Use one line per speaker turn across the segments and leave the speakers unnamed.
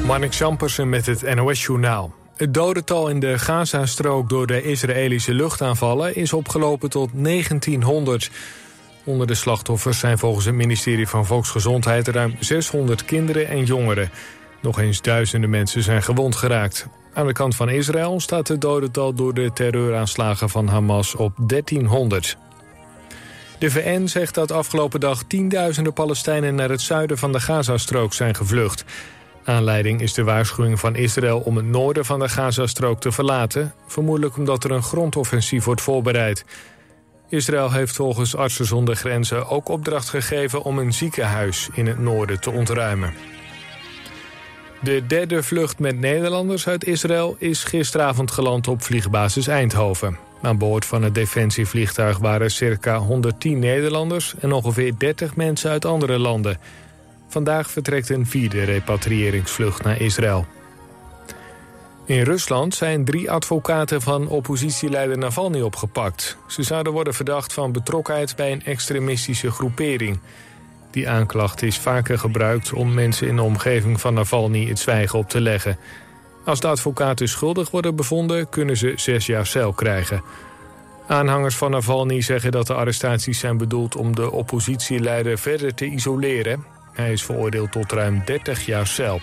Marnik Zampersen met het NOS-journaal. Het dodental in de Gazastrook door de Israëlische luchtaanvallen is opgelopen tot 1900. Onder de slachtoffers zijn volgens het ministerie van Volksgezondheid ruim 600 kinderen en jongeren. Nog eens duizenden mensen zijn gewond geraakt. Aan de kant van Israël staat het dodental door de terreuraanslagen van Hamas op 1300. De VN zegt dat afgelopen dag tienduizenden Palestijnen naar het zuiden van de Gazastrook zijn gevlucht. Aanleiding is de waarschuwing van Israël om het noorden van de Gazastrook te verlaten, vermoedelijk omdat er een grondoffensief wordt voorbereid. Israël heeft volgens Artsen zonder Grenzen ook opdracht gegeven om een ziekenhuis in het noorden te ontruimen. De derde vlucht met Nederlanders uit Israël is gisteravond geland op vliegbasis Eindhoven. Aan boord van het defensievliegtuig waren circa 110 Nederlanders en ongeveer 30 mensen uit andere landen. Vandaag vertrekt een vierde repatriëringsvlucht naar Israël. In Rusland zijn 3 advocaten van oppositieleider Navalny opgepakt. Ze zouden worden verdacht van betrokkenheid bij een extremistische groepering. Die aanklacht is vaker gebruikt om mensen in de omgeving van Navalny het zwijgen op te leggen. Als de advocaten schuldig worden bevonden, kunnen ze 6 jaar cel krijgen. Aanhangers van Navalny zeggen dat de arrestaties zijn bedoeld om de oppositieleider verder te isoleren. Hij is veroordeeld tot ruim 30 jaar cel.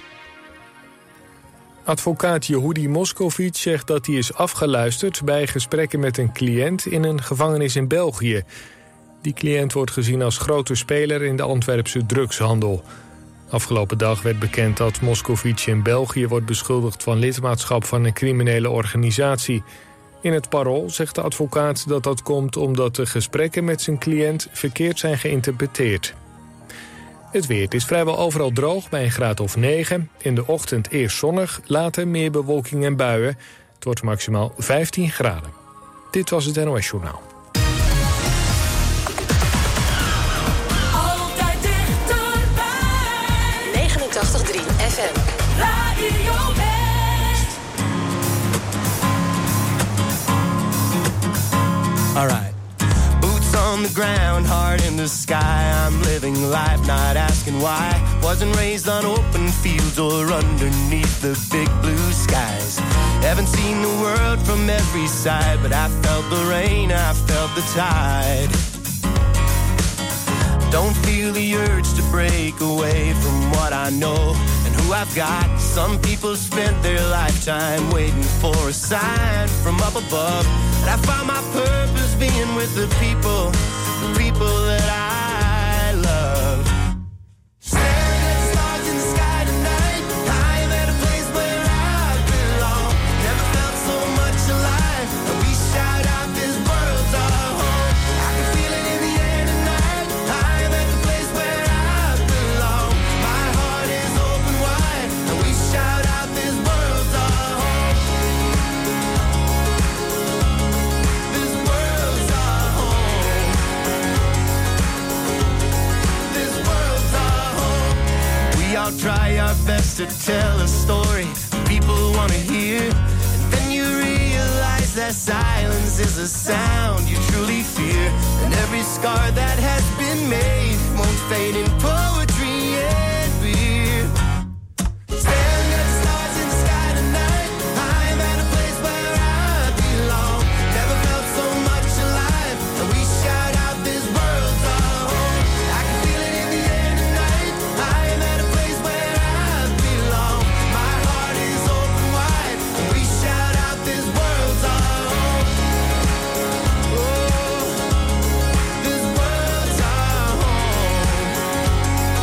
Advocaat Yehudi Moskovits zegt dat hij is afgeluisterd bij gesprekken met een cliënt in een gevangenis in België. Die cliënt wordt gezien als grote speler in de Antwerpse drugshandel. Afgelopen dag werd bekend dat Moskovits in België wordt beschuldigd van lidmaatschap van een criminele organisatie. In het Parool zegt de advocaat dat dat komt omdat de gesprekken met zijn cliënt verkeerd zijn geïnterpreteerd. Het weer. Het is vrijwel overal droog bij een graad of 9. In de ochtend eerst zonnig, later meer bewolking en buien. Het wordt maximaal 15 graden. Dit was het NOS Journaal.
Altijd dichterbij. 89.3 FM. Radio West.
All right. On the ground, heart in the sky, I'm living life, not asking why. Wasn't raised on open fields or underneath the big blue skies. Haven't seen the world from every side, but I felt the rain, I felt the tide. Don't feel the urge to break away from what I know and who I've got. Some people spent their lifetime waiting for a sign from up above. And I found my purpose being with the people that I love. Staring at stars in the sky tonight, I'm at a place where I belong. Never felt so much alive, and we shout out this world's our home. I can feel it in the air tonight, I'm at the place where I belong. My heart is open wide, and we shout out this world's our home. This world's our home. This world's our home. We all try our best to tell a story people want to hear, and then you realize that silence is a sound you truly fear, and every scar that has been made won't fade in poetry and beer. Staring at stars in the sky tonight, I'm at a place where I belong. Never felt so much alive, and we shout out this world's our home. I can feel it in the air tonight, I'm at a place where I belong. My heart is open wide, and we shout out this world's our home. Oh, this world's our home.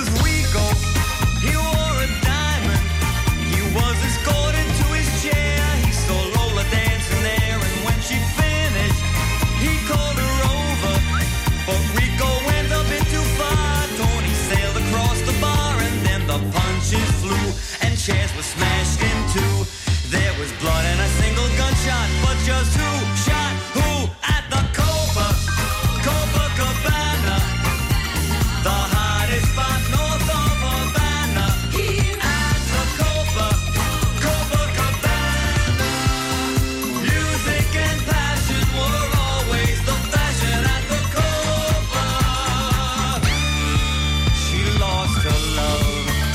was Rico. He wore a diamond. He was escorted to his chair. He saw Lola dancing there, and when she finished, he called her over. But Rico went a bit too far. Tony sailed across the bar, and then the punches flew, and chairs were smashed in two. There was blood and a single gunshot, but just who shot who at the Copacabana, the hottest spot north of Havana. At the Copacabana, music and passion were always the fashion at the Copa. She lost her love.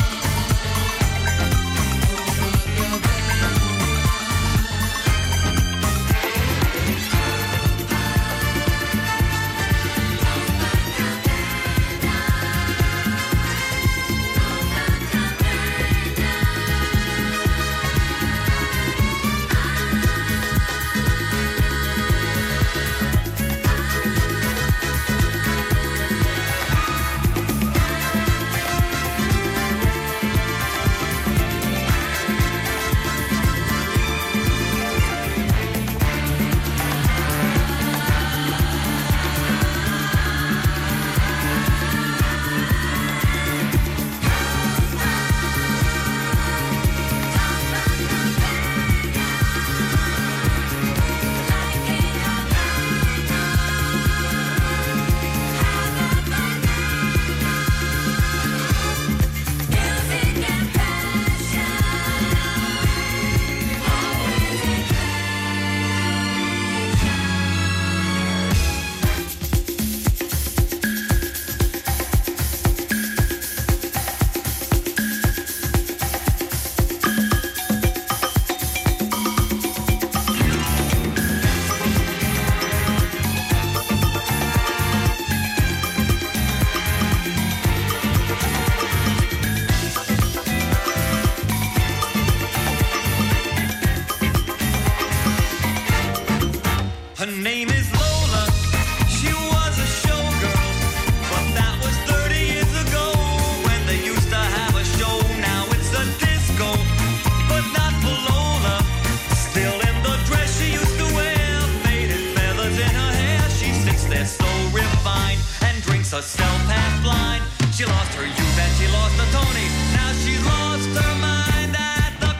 Her name is Lola. She was a showgirl, but that was 30 years ago when they used to have a show. Now it's a disco, but not for Lola. Still in the dress she used to wear, faded feathers in her hair. She sits there so refined and drinks herself half blind. She lost her youth and she lost her Tony. Now she's lost her mind at the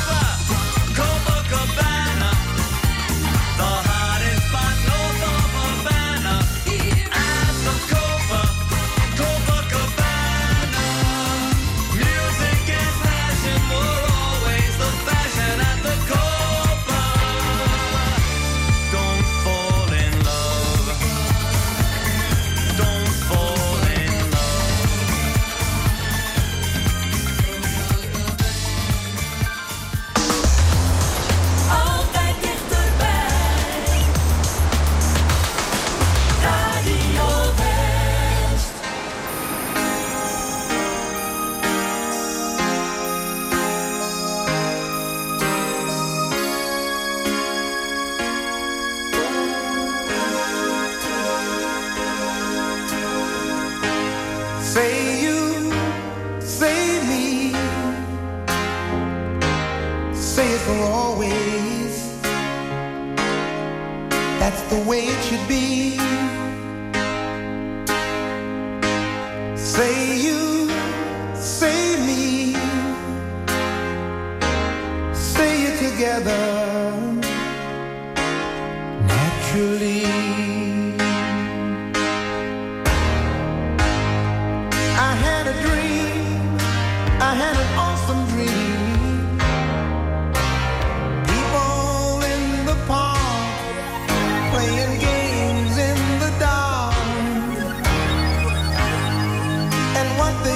Copacabana. The hottest spot north of Havana. At the Copacabana, music and passion were always the fashion at the Copa. Don't fall in love. Don't fall in love.
Altijd dichterbij. Radio West.
Say you, say me, say it for always. That's the way it should be. Say you, say me, say it together naturally. I had a dream, I had an awesome dream. People in the park playing games in the dark. And what they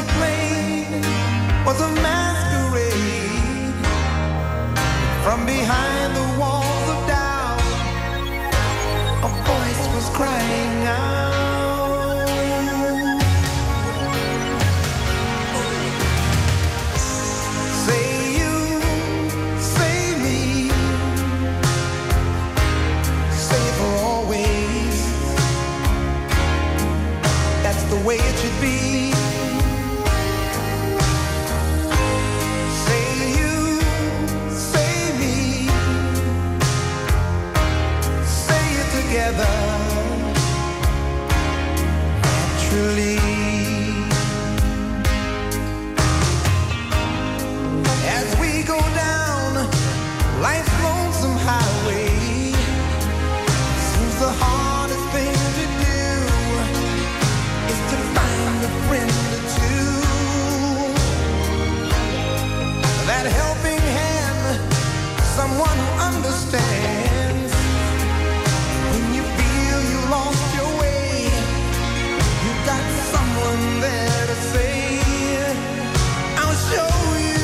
someone who understands. When you feel you lost your way, you got someone there to say, I'll show you.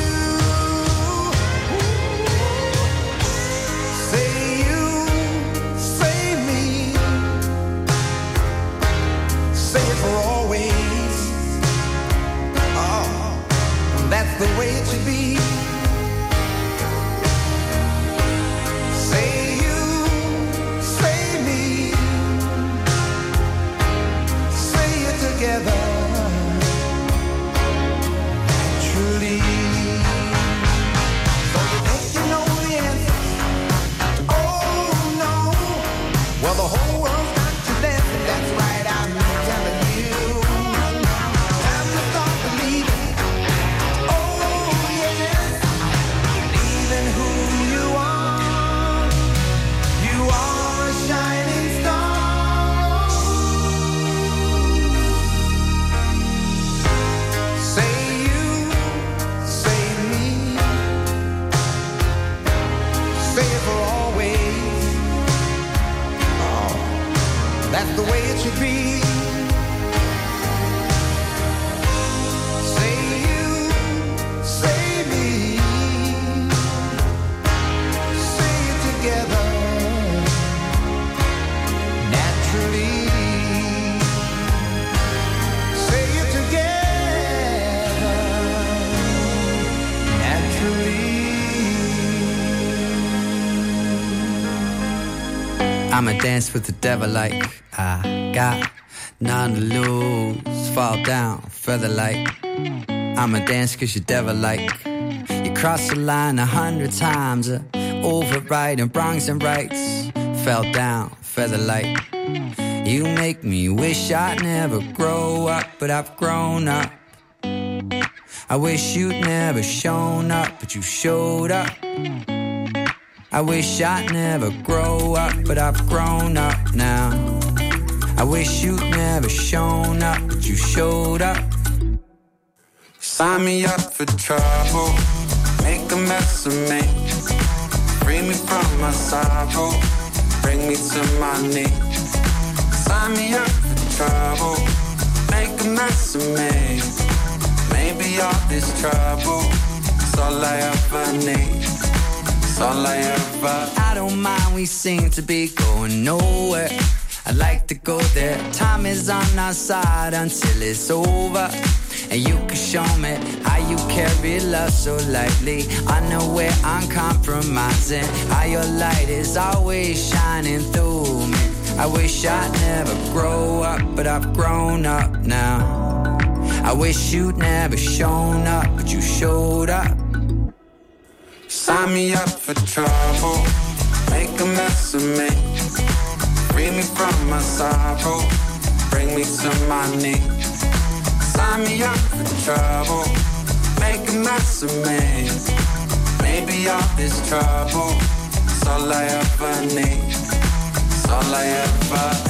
Say you, say me, say it for always. Oh, that's the way it should be. Together, truly. So you think you know the answer? Oh no. Well, the whole world's got you dancing. That's right, I'm telling you. Time to start believing. Oh yes, believe in who you are. You are a shining star. That's the way it should be. Say you, say me, say it together, naturally. Say it together, naturally.
I'ma dance with the devil like I got none to lose. Fall down, feather like I'ma dance cause you're devil like. You crossed the line 100 times, overriding wrongs and rights. Fell down, feather like. You make me wish I'd never grow up, but I've grown up. I wish you'd never shown up, but you showed up. I wish I'd never grow up, but I've grown up now. I wish you'd never shown up, but you showed up.
Sign me up for trouble, make a mess of me. Free me from my sorrow, bring me to my knees. Sign me up for trouble, make a mess of me. Maybe all this trouble is all I ever need. All I ever.
I don't mind, we seem to be going nowhere. I'd like to go there. Time is on our side until it's over. And you can show me how you carry love so lightly. Unaware, uncompromising. How your light is always shining through me. I wish I'd never grow up, but I've grown up now. I wish you'd never shown up, but you showed up.
Sign me up for trouble, make a mess of me. Free me from my sorrow, bring me to my knees. Sign me up for trouble, make a mess of me. Maybe all this trouble is all I ever need. It's all I ever.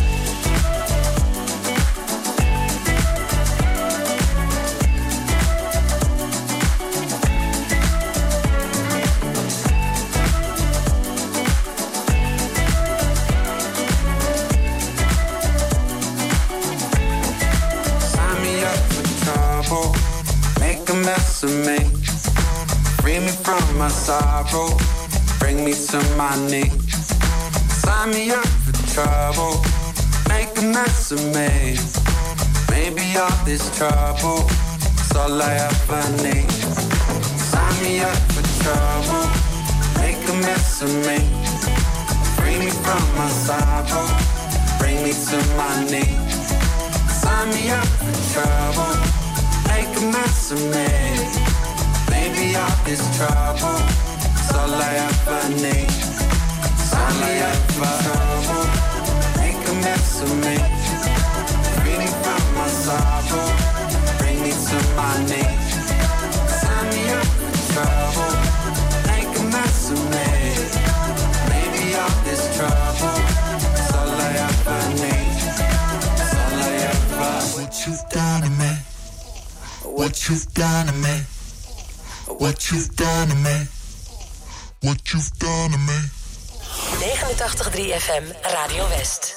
Make a mess of me. Free me from my sorrow, bring me to my knees. Sign me up for trouble, make a mess of me. Maybe all this trouble is all I ever need. Sign me up for trouble, make a mess of me. Free me from my sorrow, bring me to my knees. Sign me up for trouble, make a mess of me. Maybe all this trouble is all I ever need. Sign me up for trouble, make a mess of me. Free me from my sorrow, bring me to my knees. Sign me up for trouble, make a mess of me. Maybe all this trouble is all I ever need. It's all I ever.
What you've done to me, what you've done to me, what you've done to me,
what you've done to me.
89.3 FM Radio West.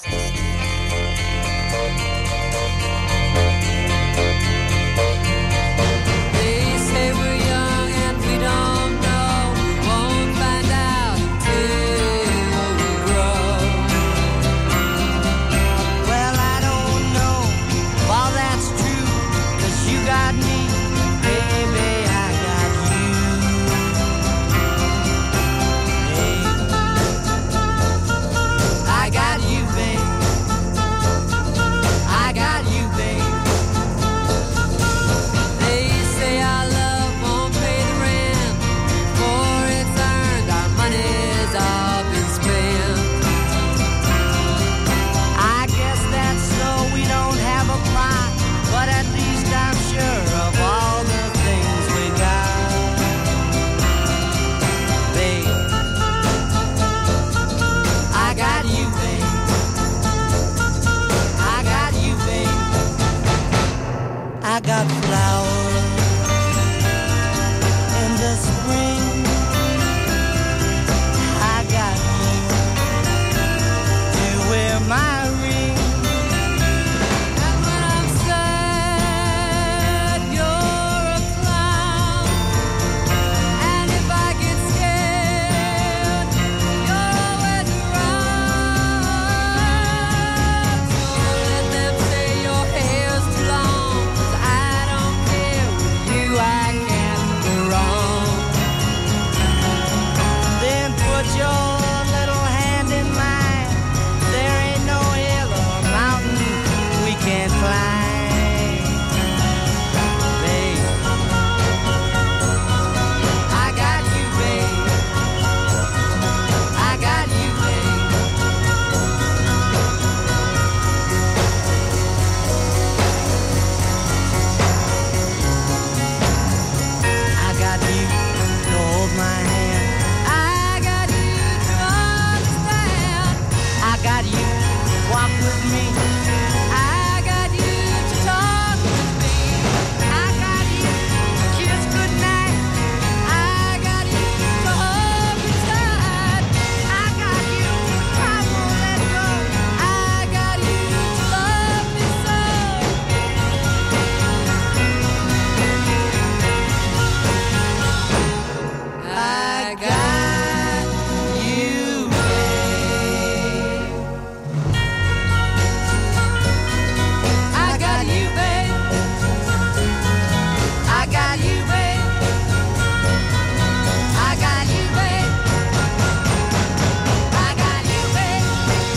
They say we're young and we don't know. We won't find out until we grow.
Well, I don't know if all that's true, 'cause you got me, baby, I got you. Hey. I got you, babe. I got you, babe.
They say our love won't pay the rent before it's earned. Our money's all been spent.
I guess that's so we don't have a plot, but at least I'm sure of all the things we got. Babe, I got you, babe. I got you, babe. I got flowers in the spring. I got you to wear my ring.
And when I'm sad, you're a clown. And if I get scared, you're always around. Don't let them say your hair's too long, 'cause I don't care. With you I can't go wrong.
Then put your little hand in mine. There ain't no hill or mountain we can't climb. Babe, I got you, babe. I got you, babe. I got you to hold my hand.
I got you to understand.
I got you to walk with me.
I got you to talk with me.
I got you to kiss goodnight.
I got you to hold me tight.
I got you, I won't let go.
I got you to love me so. I got you, babe. I got you, babe.
I got you, babe. I got you, babe. I got you, babe.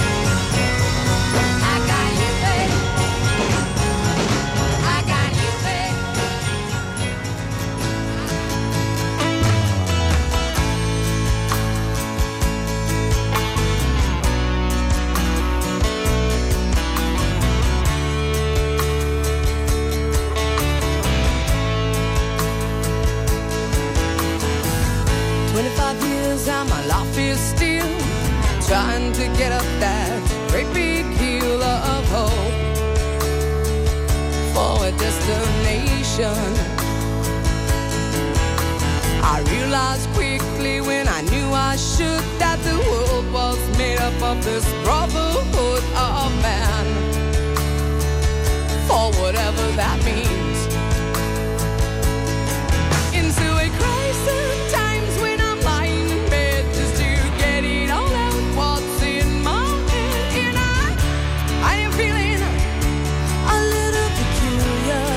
I got you, babe. I got you, babe.
And my life is still trying to get up that great big hill of hope for a destination. I realized quickly when I knew I should that the world was made up of this brotherhood of man, for whatever that means. Into a crisis times when I'm lying in bed just to get it all out what's in my head. And I am feeling a little peculiar.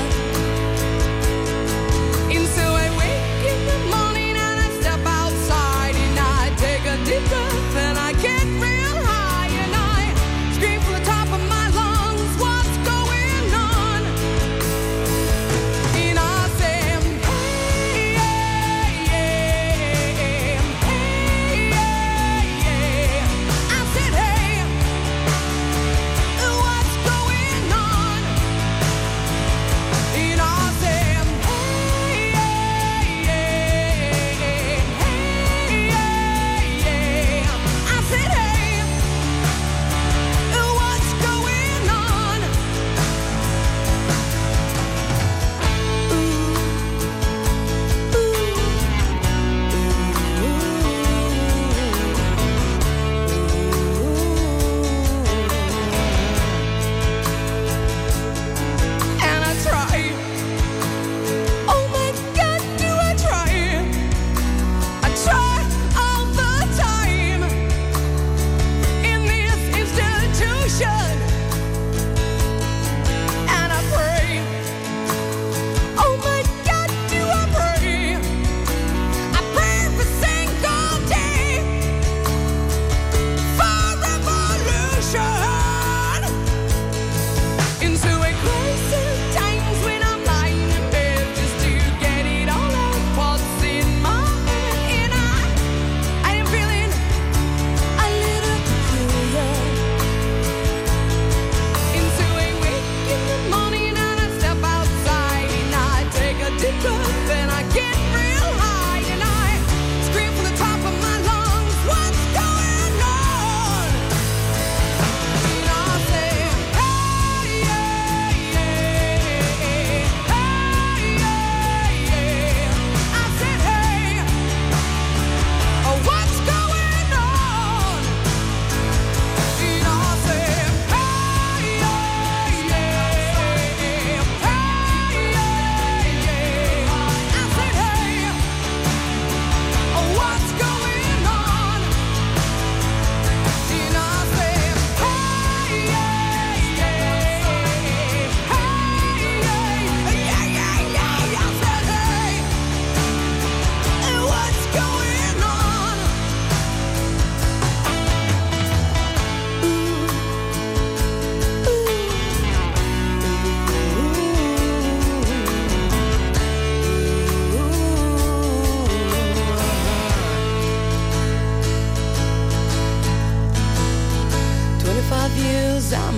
And so I wake in the morning and I step outside and I take a deep breath and I get real high and I scream from the top of my lungs, what's going on?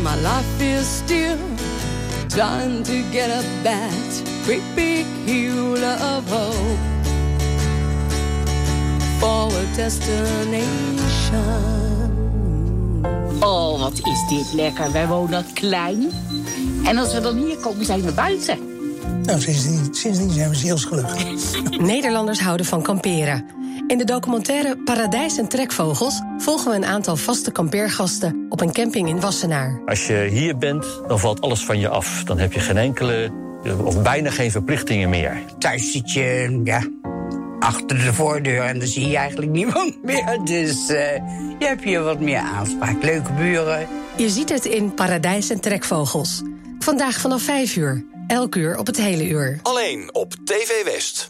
my life is still trying to get up that great big hill of hope for a destination.
Oh, wat is dit lekker. Wij wonen klein. En als we dan hier komen, zijn we buiten.
Nou, sindsdien zijn we zielsgelukkig.
Nederlanders houden van kamperen. In de documentaire Paradijs en Trekvogels volgen we een aantal vaste kampeergasten op een camping in Wassenaar.
Als je hier bent, dan valt alles van je af. Dan heb je geen enkele, of bijna geen verplichtingen meer.
Thuis zit je, achter de voordeur en dan zie je eigenlijk niemand meer. Dus je hebt hier wat meer aanspraak. Leuke buren.
Je ziet het in Paradijs en Trekvogels. Vandaag vanaf 5 uur. Elk uur op het hele uur.
Alleen op TV West.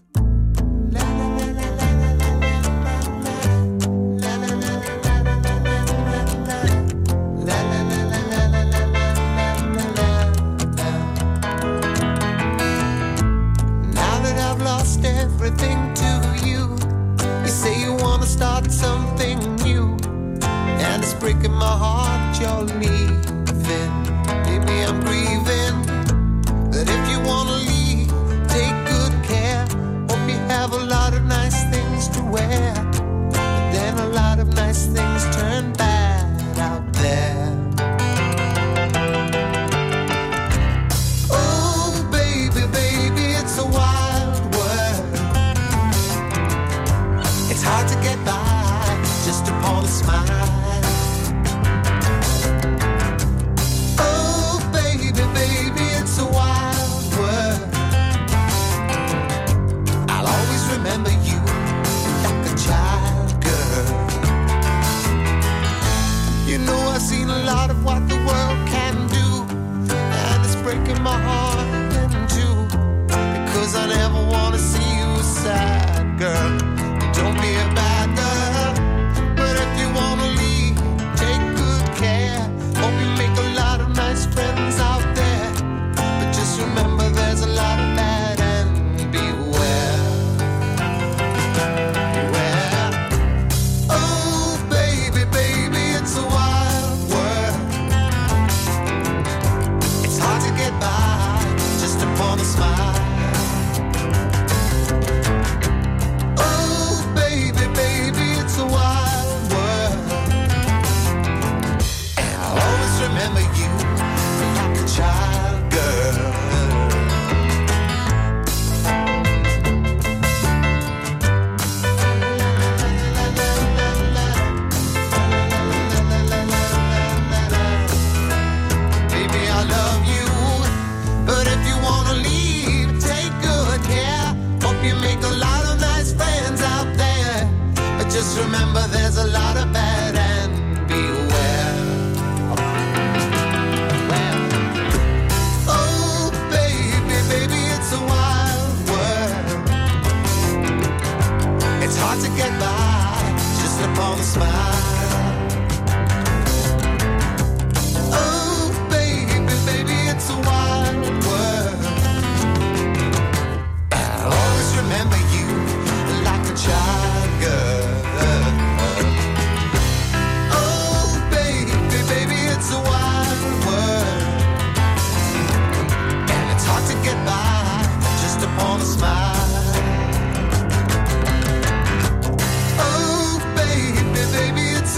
Everything to you. You say you wanna start something new, and it's breaking my heart you're leaving. Maybe I'm grieving, but if you wanna leave, take good care. Hope you have a lot of nice things to wear, but then a lot of nice things turn bad out there. Oh baby, baby, it's a wild world. It's hard to get by just upon a smile. Oh, baby, baby, it's a wild world. I'll always remember you like a child, girl. You know I've seen a lot of what the world can do, and it's breaking my heart in two, because I never want to see you sad, girl. Don't be a bad girl, but if you wanna leave, take good care. Hope you make a lot of nice friends out there, but just remember there's a lot of bad and beware. Beware. Oh baby, baby, it's a wild world. It's hard to get by just upon a smile. Remember you like a child, girl. Baby, I love you, but if you wanna leave, take good care. Hope you make a lot of nice friends out there, but just remember there's a lot of bad and beware. It's hard to get by just upon a smile. Oh, baby, baby, it's a wild world. I'll always remember you like a child, girl. Oh, baby, baby, it's a wild world. And it's hard to get by just upon a smile. Baby, it's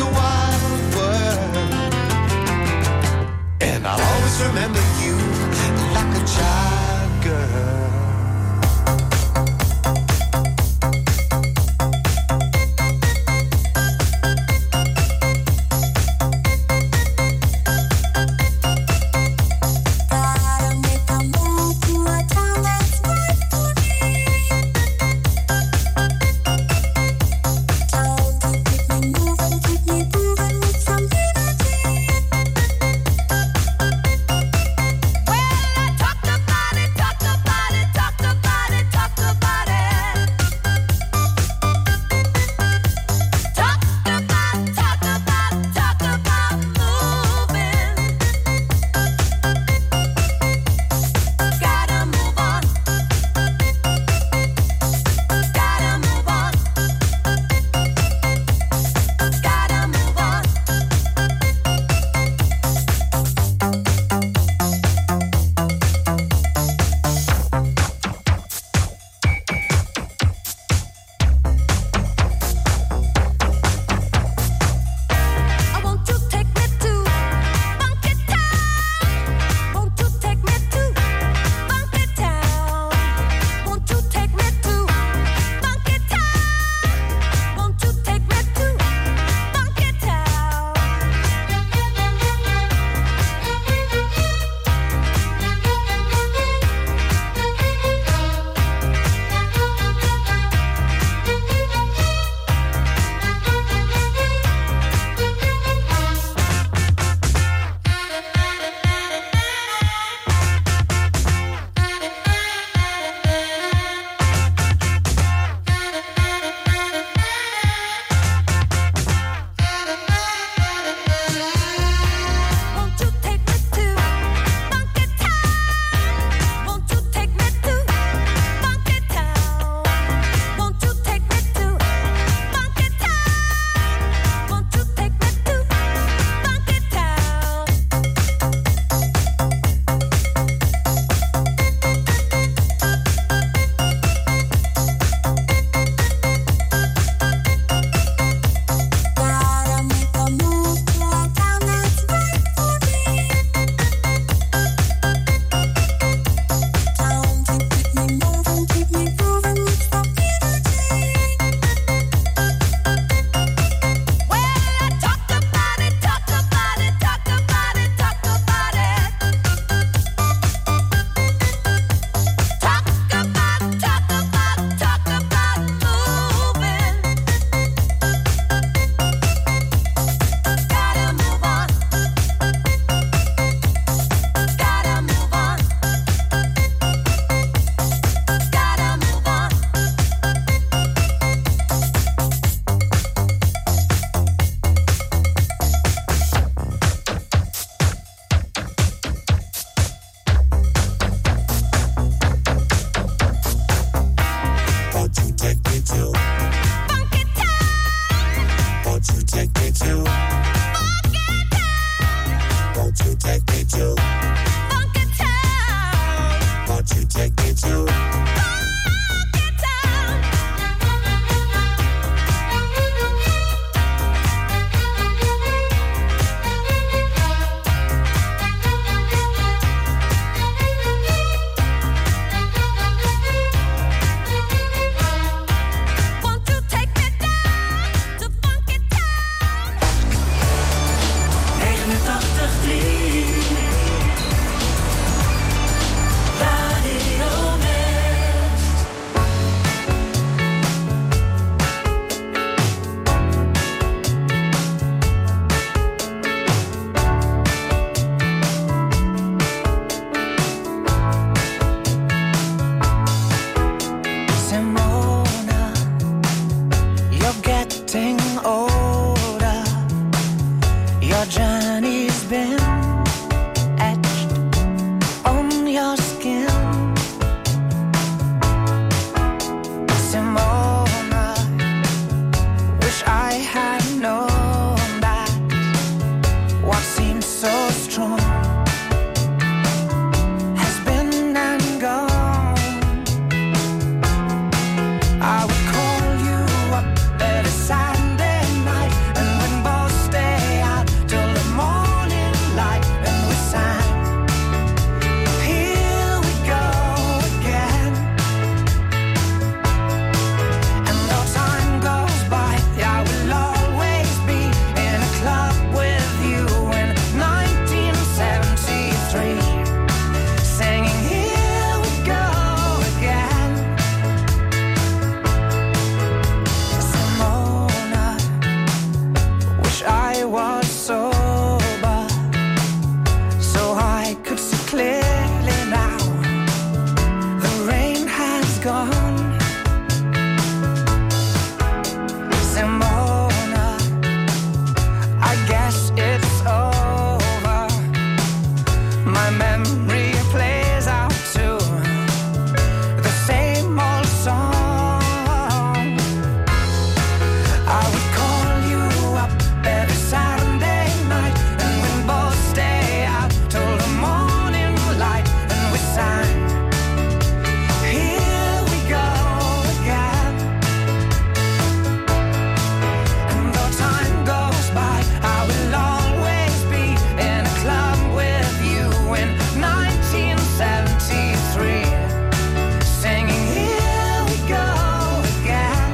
I would call you up every Saturday night, and we'd both stay out till the morning light, and we sang, here we go again. And though time goes by, I will always be in a club with you in 1973, singing here we go again. Simona, wish I was sober, so I could see clearly now. The rain has gone. Simona, I guess it's over. My memory plays out to the same old song. I would call you up every Saturday night, and we'd both stay out till the morning light, and we sang, here we go again. And though time goes by, I will always be in a club with you in 1973, singing here we go again.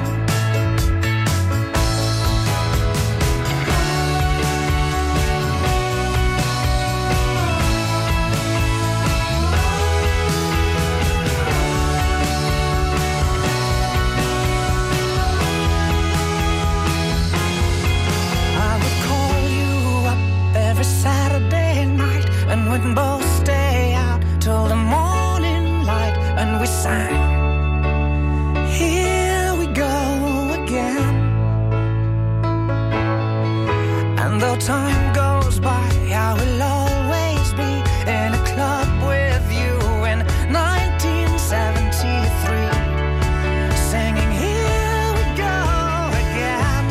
I would call you up every Saturday night, and we'd both stay out till the morning light, and we sang, here we go again. And though time goes by, I will always be in a club with you in 1973, singing here we go again.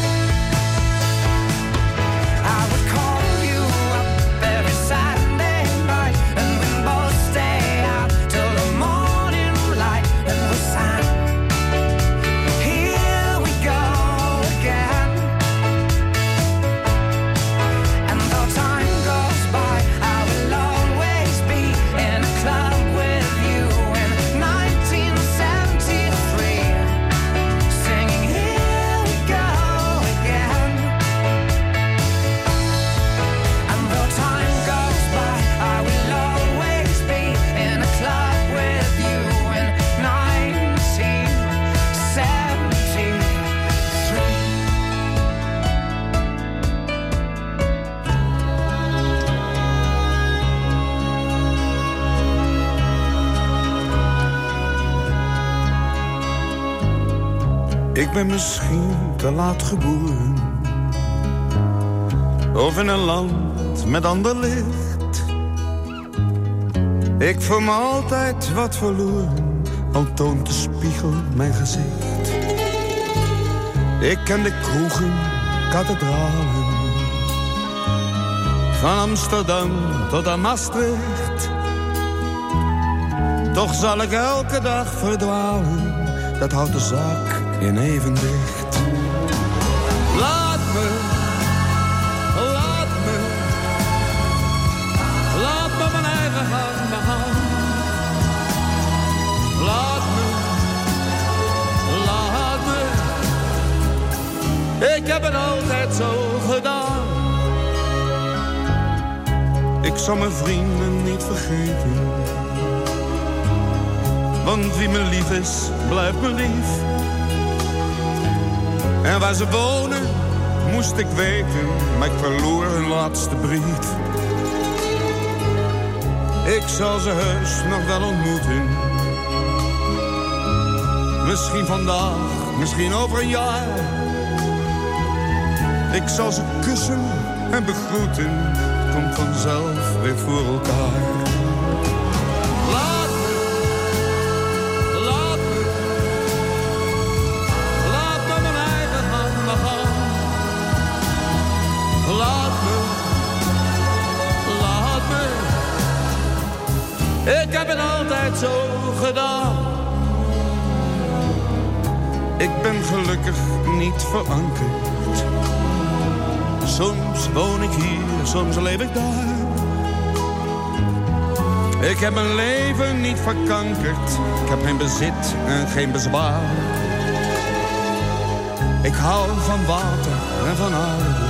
I would call you up every Saturday night, and we'd both stay out till the morning light, and we sang, here we go again. And though time goes by, I will always be in a club with you in 1973, singing here we go again. And though time goes by, I will always be in a club with you in 1973.
Ik ben misschien te laat geboren, of in een land met ander licht. Ik voel me altijd wat verloren, al toont de spiegel mijn gezicht. Ik ken de kroegen, kathedralen, van Amsterdam tot aan Maastricht. Toch zal ik elke dag verdwalen, dat houdt de zaak in evenwicht. Laat me mijn eigen gang begaan. Laat me, ik heb het altijd zo gedaan. Ik zal mijn vrienden niet vergeten, want wie me lief is, blijft me lief. En waar ze wonen, moest ik weten, maar ik verloor hun laatste brief. Ik zal ze heus nog wel ontmoeten. Misschien vandaag, misschien over een jaar. Ik zal ze kussen en begroeten, het komt vanzelf weer voor elkaar. Laat me mijn eigen gang gaan. Laat me, ik heb het altijd zo gedaan. Ik ben gelukkig niet verankerd. Soms woon ik hier, soms leef ik daar. Ik heb mijn leven niet verkankerd. Ik heb geen bezit en geen bezwaar. Ik hou van water en van aarde.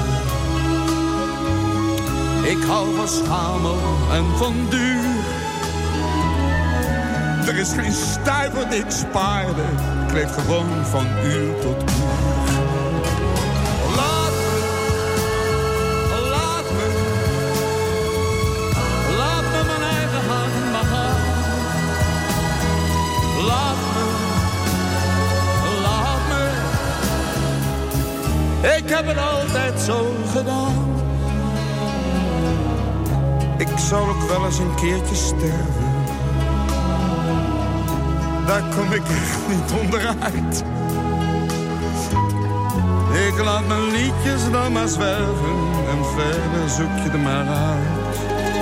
Ik hou van schamel en van duur. Er is geen stuiver die ik spaarde. Ik leef gewoon van uur tot uur. Laat me mijn eigen hand maar gaan. Laat me. Ik heb het altijd zo gedaan. Ik zal ook wel eens een keertje sterven. Daar kom ik echt niet onderuit. Ik laat mijn liedjes dan maar zwerven. En verder zoek je er maar uit.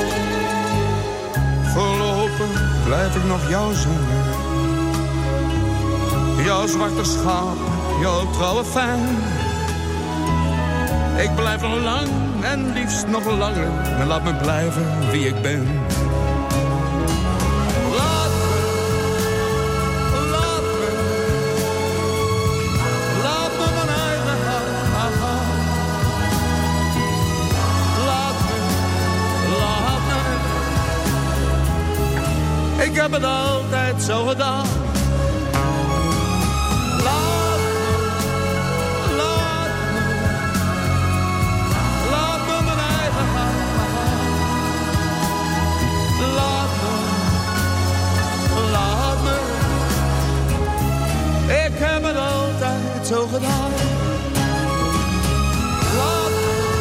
Voorlopig blijf ik nog jou zingen. Jouw zwarte schaap, jouw trouwe fan. Ik blijf nog lang en liefst nog langer. En laat me blijven wie ik ben. Laat me mijn eigen hand gaan. Laat me. Ik heb het altijd zo gedaan. Zo gedaan. Laat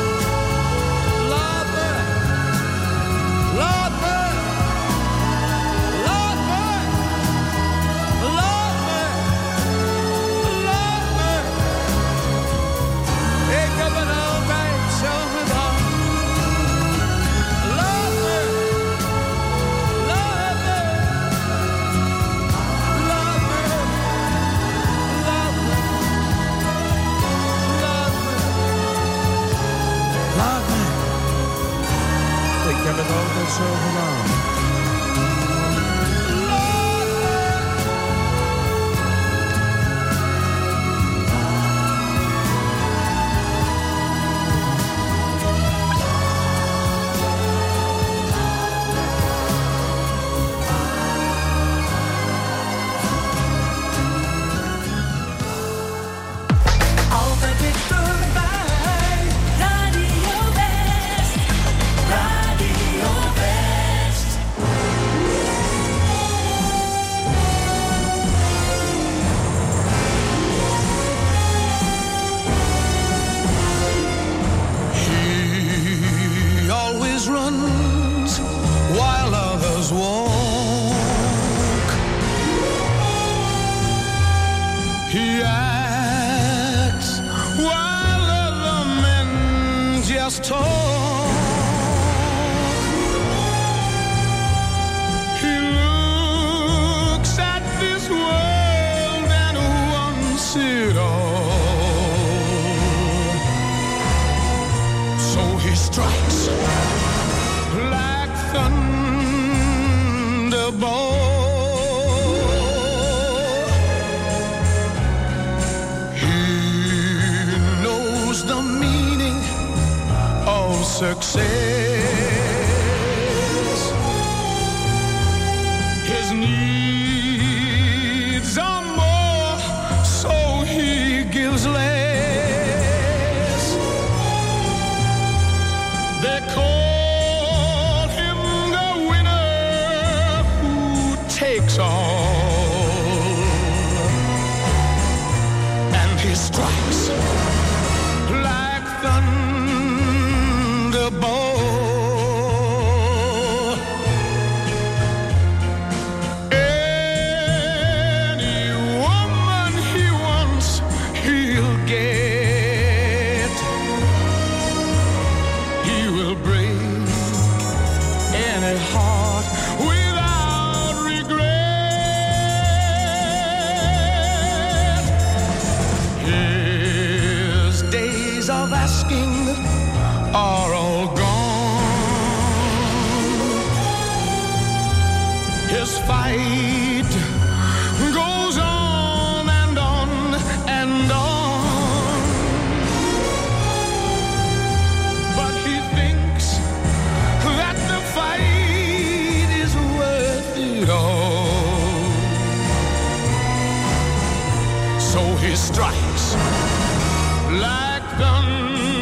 me. Ik heb het altijd zo gedaan. Laat me. Ik heb het altijd zo gedaan.
Altijd dichterbij, Radio West, Radio West.
He always runs while others walk. He acts while other men just talk. He looks at this world and wants it all. So he strikes like thunderbolt. The meaning of success. His needs are more, so he gives less. They call him the winner who takes all. And he strikes like thunderbolt. Any woman he wants, he'll get. He will break any heart without regret. asking are all gone. His fight goes on and on and on, but he thinks that the fight is worth it all. So he strikes like thunder.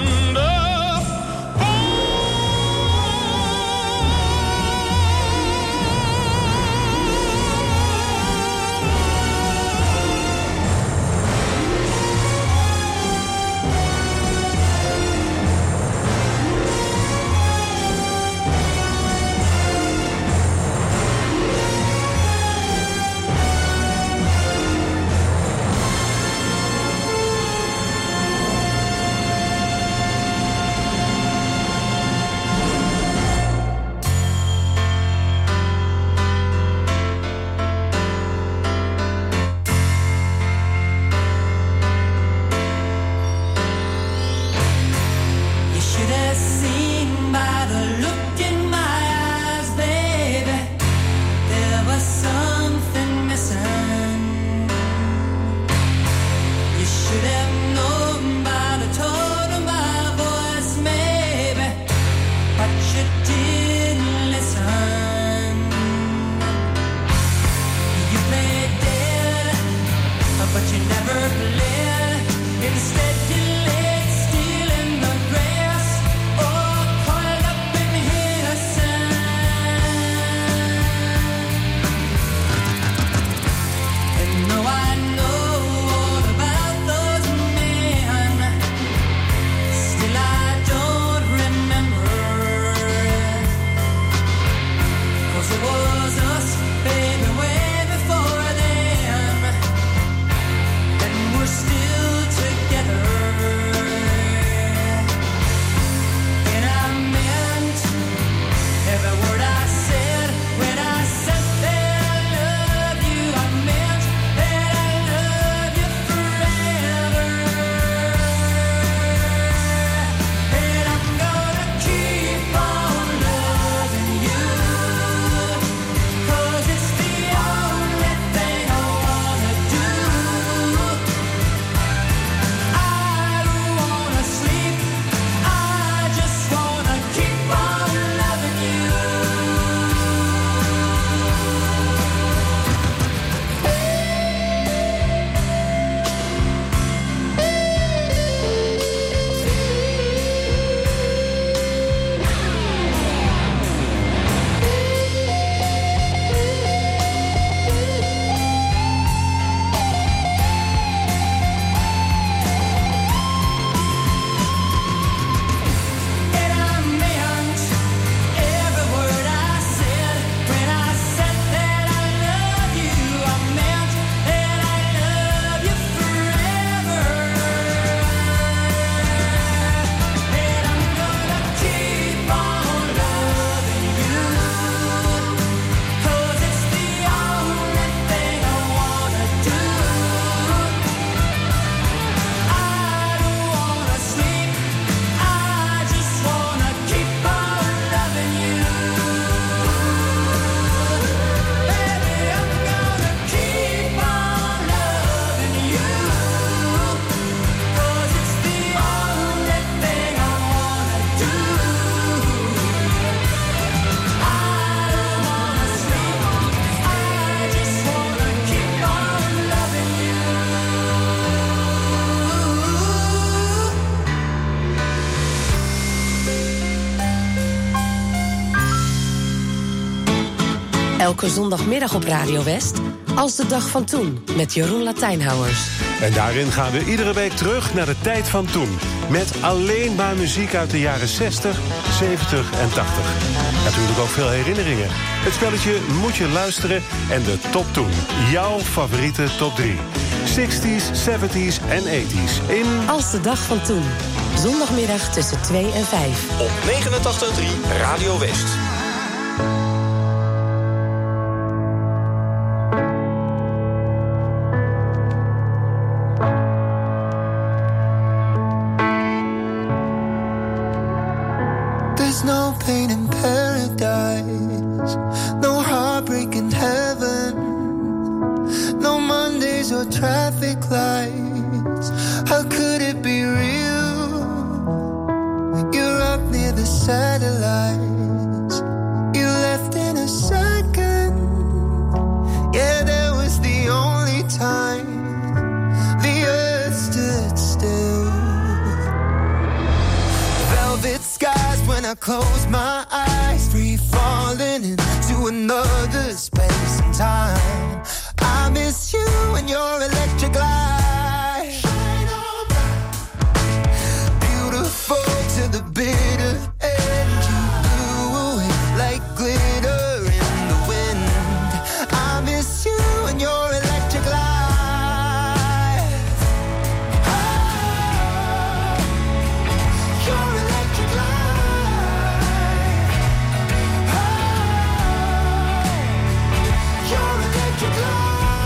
Elke zondagmiddag op Radio West, Als de dag van toen, met Jeroen Latijnhouwers.
En daarin gaan we iedere week terug naar de tijd van toen. Met alleen maar muziek uit de jaren 60, 70 en 80. Natuurlijk ook veel herinneringen. Het spelletje Moet je luisteren en de top toen. Jouw favoriete top 3. 60s, 70s en 80s in...
Als de dag van toen. Zondagmiddag tussen 2 en 5.
Op 89.3 Radio West.
pain in paradise, no heartbreak in heaven, no Mondays or traffic lights. How could it be real? You're up near the satellites, you left in a second. Yeah, that was the only time the earth stood still. Velvet skies when I close my eyes, free falling into another space and time. I miss you and your electric light. Shine on bright. Beautiful to the bitter end. You blew away like glitter in the wind. I miss you and your electric light. Oh, your electric light. Oh, your electric light.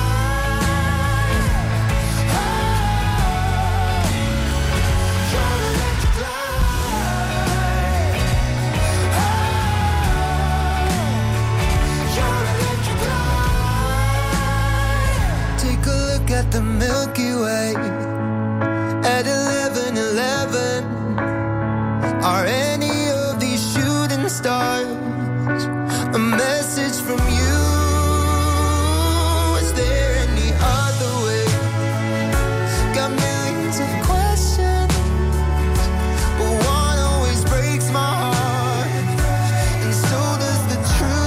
At the Milky Way at 11:11. Are any of these shooting stars a message from you? Is there any other way? Got millions of questions, but one always breaks my heart, and so does the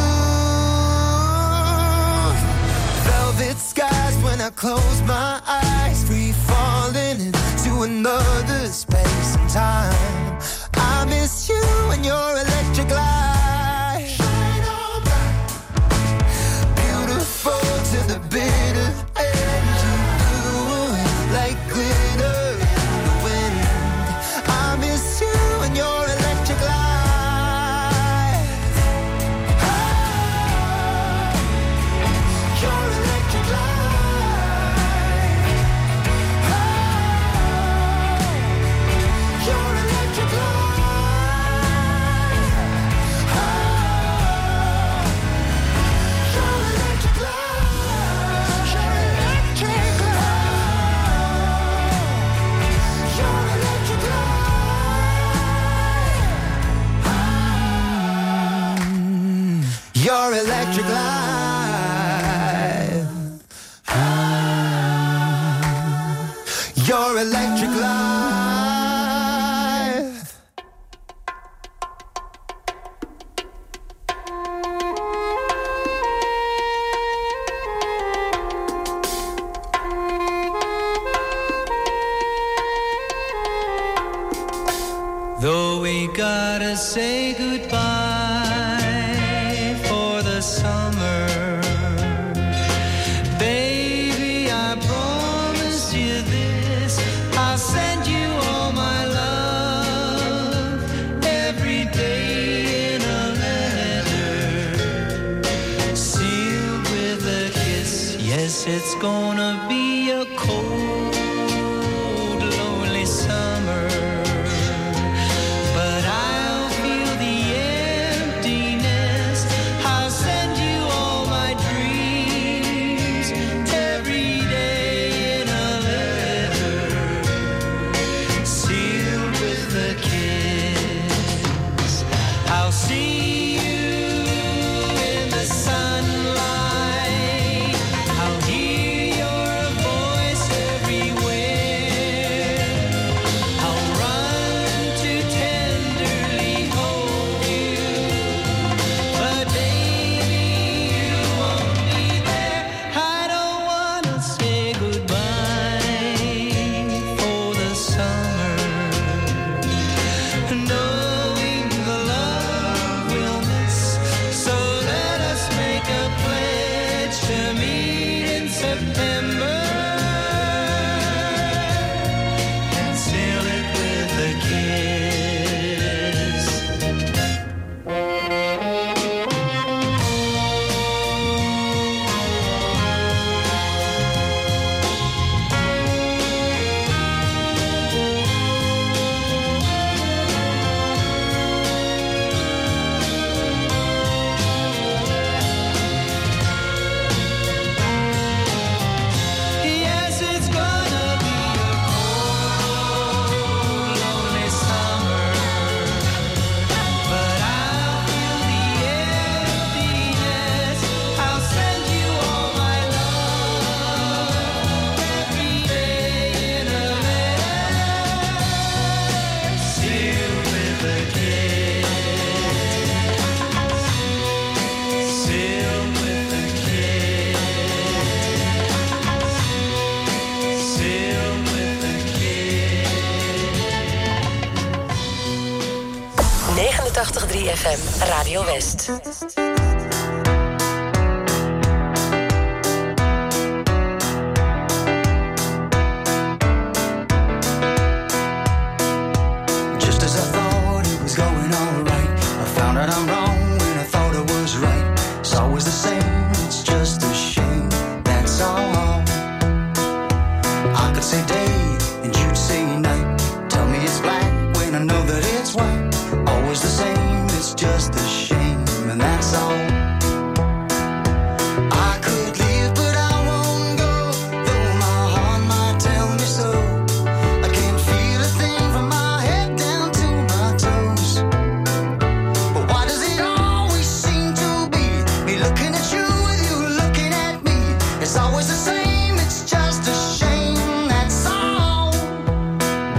truth. Velvet skies when I close my eyes, free falling into another space and time. I miss you and your electric light. Shine on bright. Beautiful to the bitter end. You blew away like glitter in the wind. I miss you and your electric light. Oh, your electric light. Your electric light. Your electric light.
Though we gotta say goodbye for the summer, baby, I promise you this, I'll send you all my love every day in a letter, sealed with a kiss. Yes, it's gonna be a cold, lonely summer.
Your
89.3 FM Radio West.
Just as I thought it was going all right, I found out I'm wrong when I thought I was right. It's always the same, it's just a shame, that's all. I could say day and you'd say night. Tell me it's black when I know that it's white. Always the same, it's just a shame, and that's all. I could leave, but I won't go, though my heart might tell me so. I can't feel a thing from my head down to my toes. But why does it always seem to be me looking at you with you looking at me? It's always the same, it's just a shame, that's all.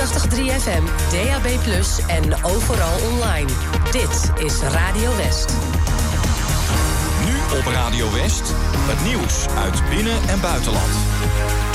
89.3 FM, DAB+ en overal online. Dit is Radio West.
Nu op Radio West, het nieuws uit binnen- en buitenland.